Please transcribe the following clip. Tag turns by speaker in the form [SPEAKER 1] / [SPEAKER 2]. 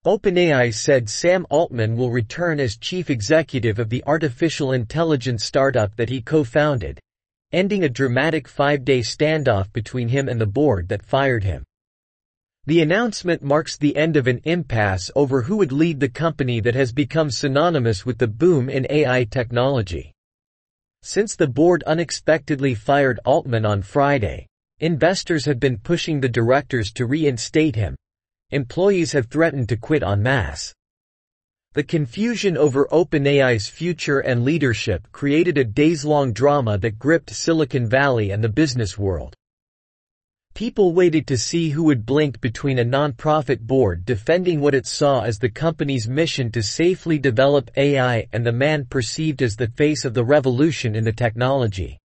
[SPEAKER 1] OpenAI said Sam Altman will return as chief executive of the artificial intelligence startup that he co-founded, ending a dramatic 5-day standoff between him and the board that fired him. The announcement marks the end of an impasse over who would lead the company that has become synonymous with the boom in AI technology. Since the board unexpectedly fired Altman on Friday, investors have been pushing the directors to reinstate him. Employees have threatened to quit en masse. The confusion over OpenAI's future and leadership created a days-long drama that gripped Silicon Valley and the business world. People waited to see who would blink between a nonprofit board defending what it saw as the company's mission to safely develop AI and the man perceived as the face of the revolution in the technology.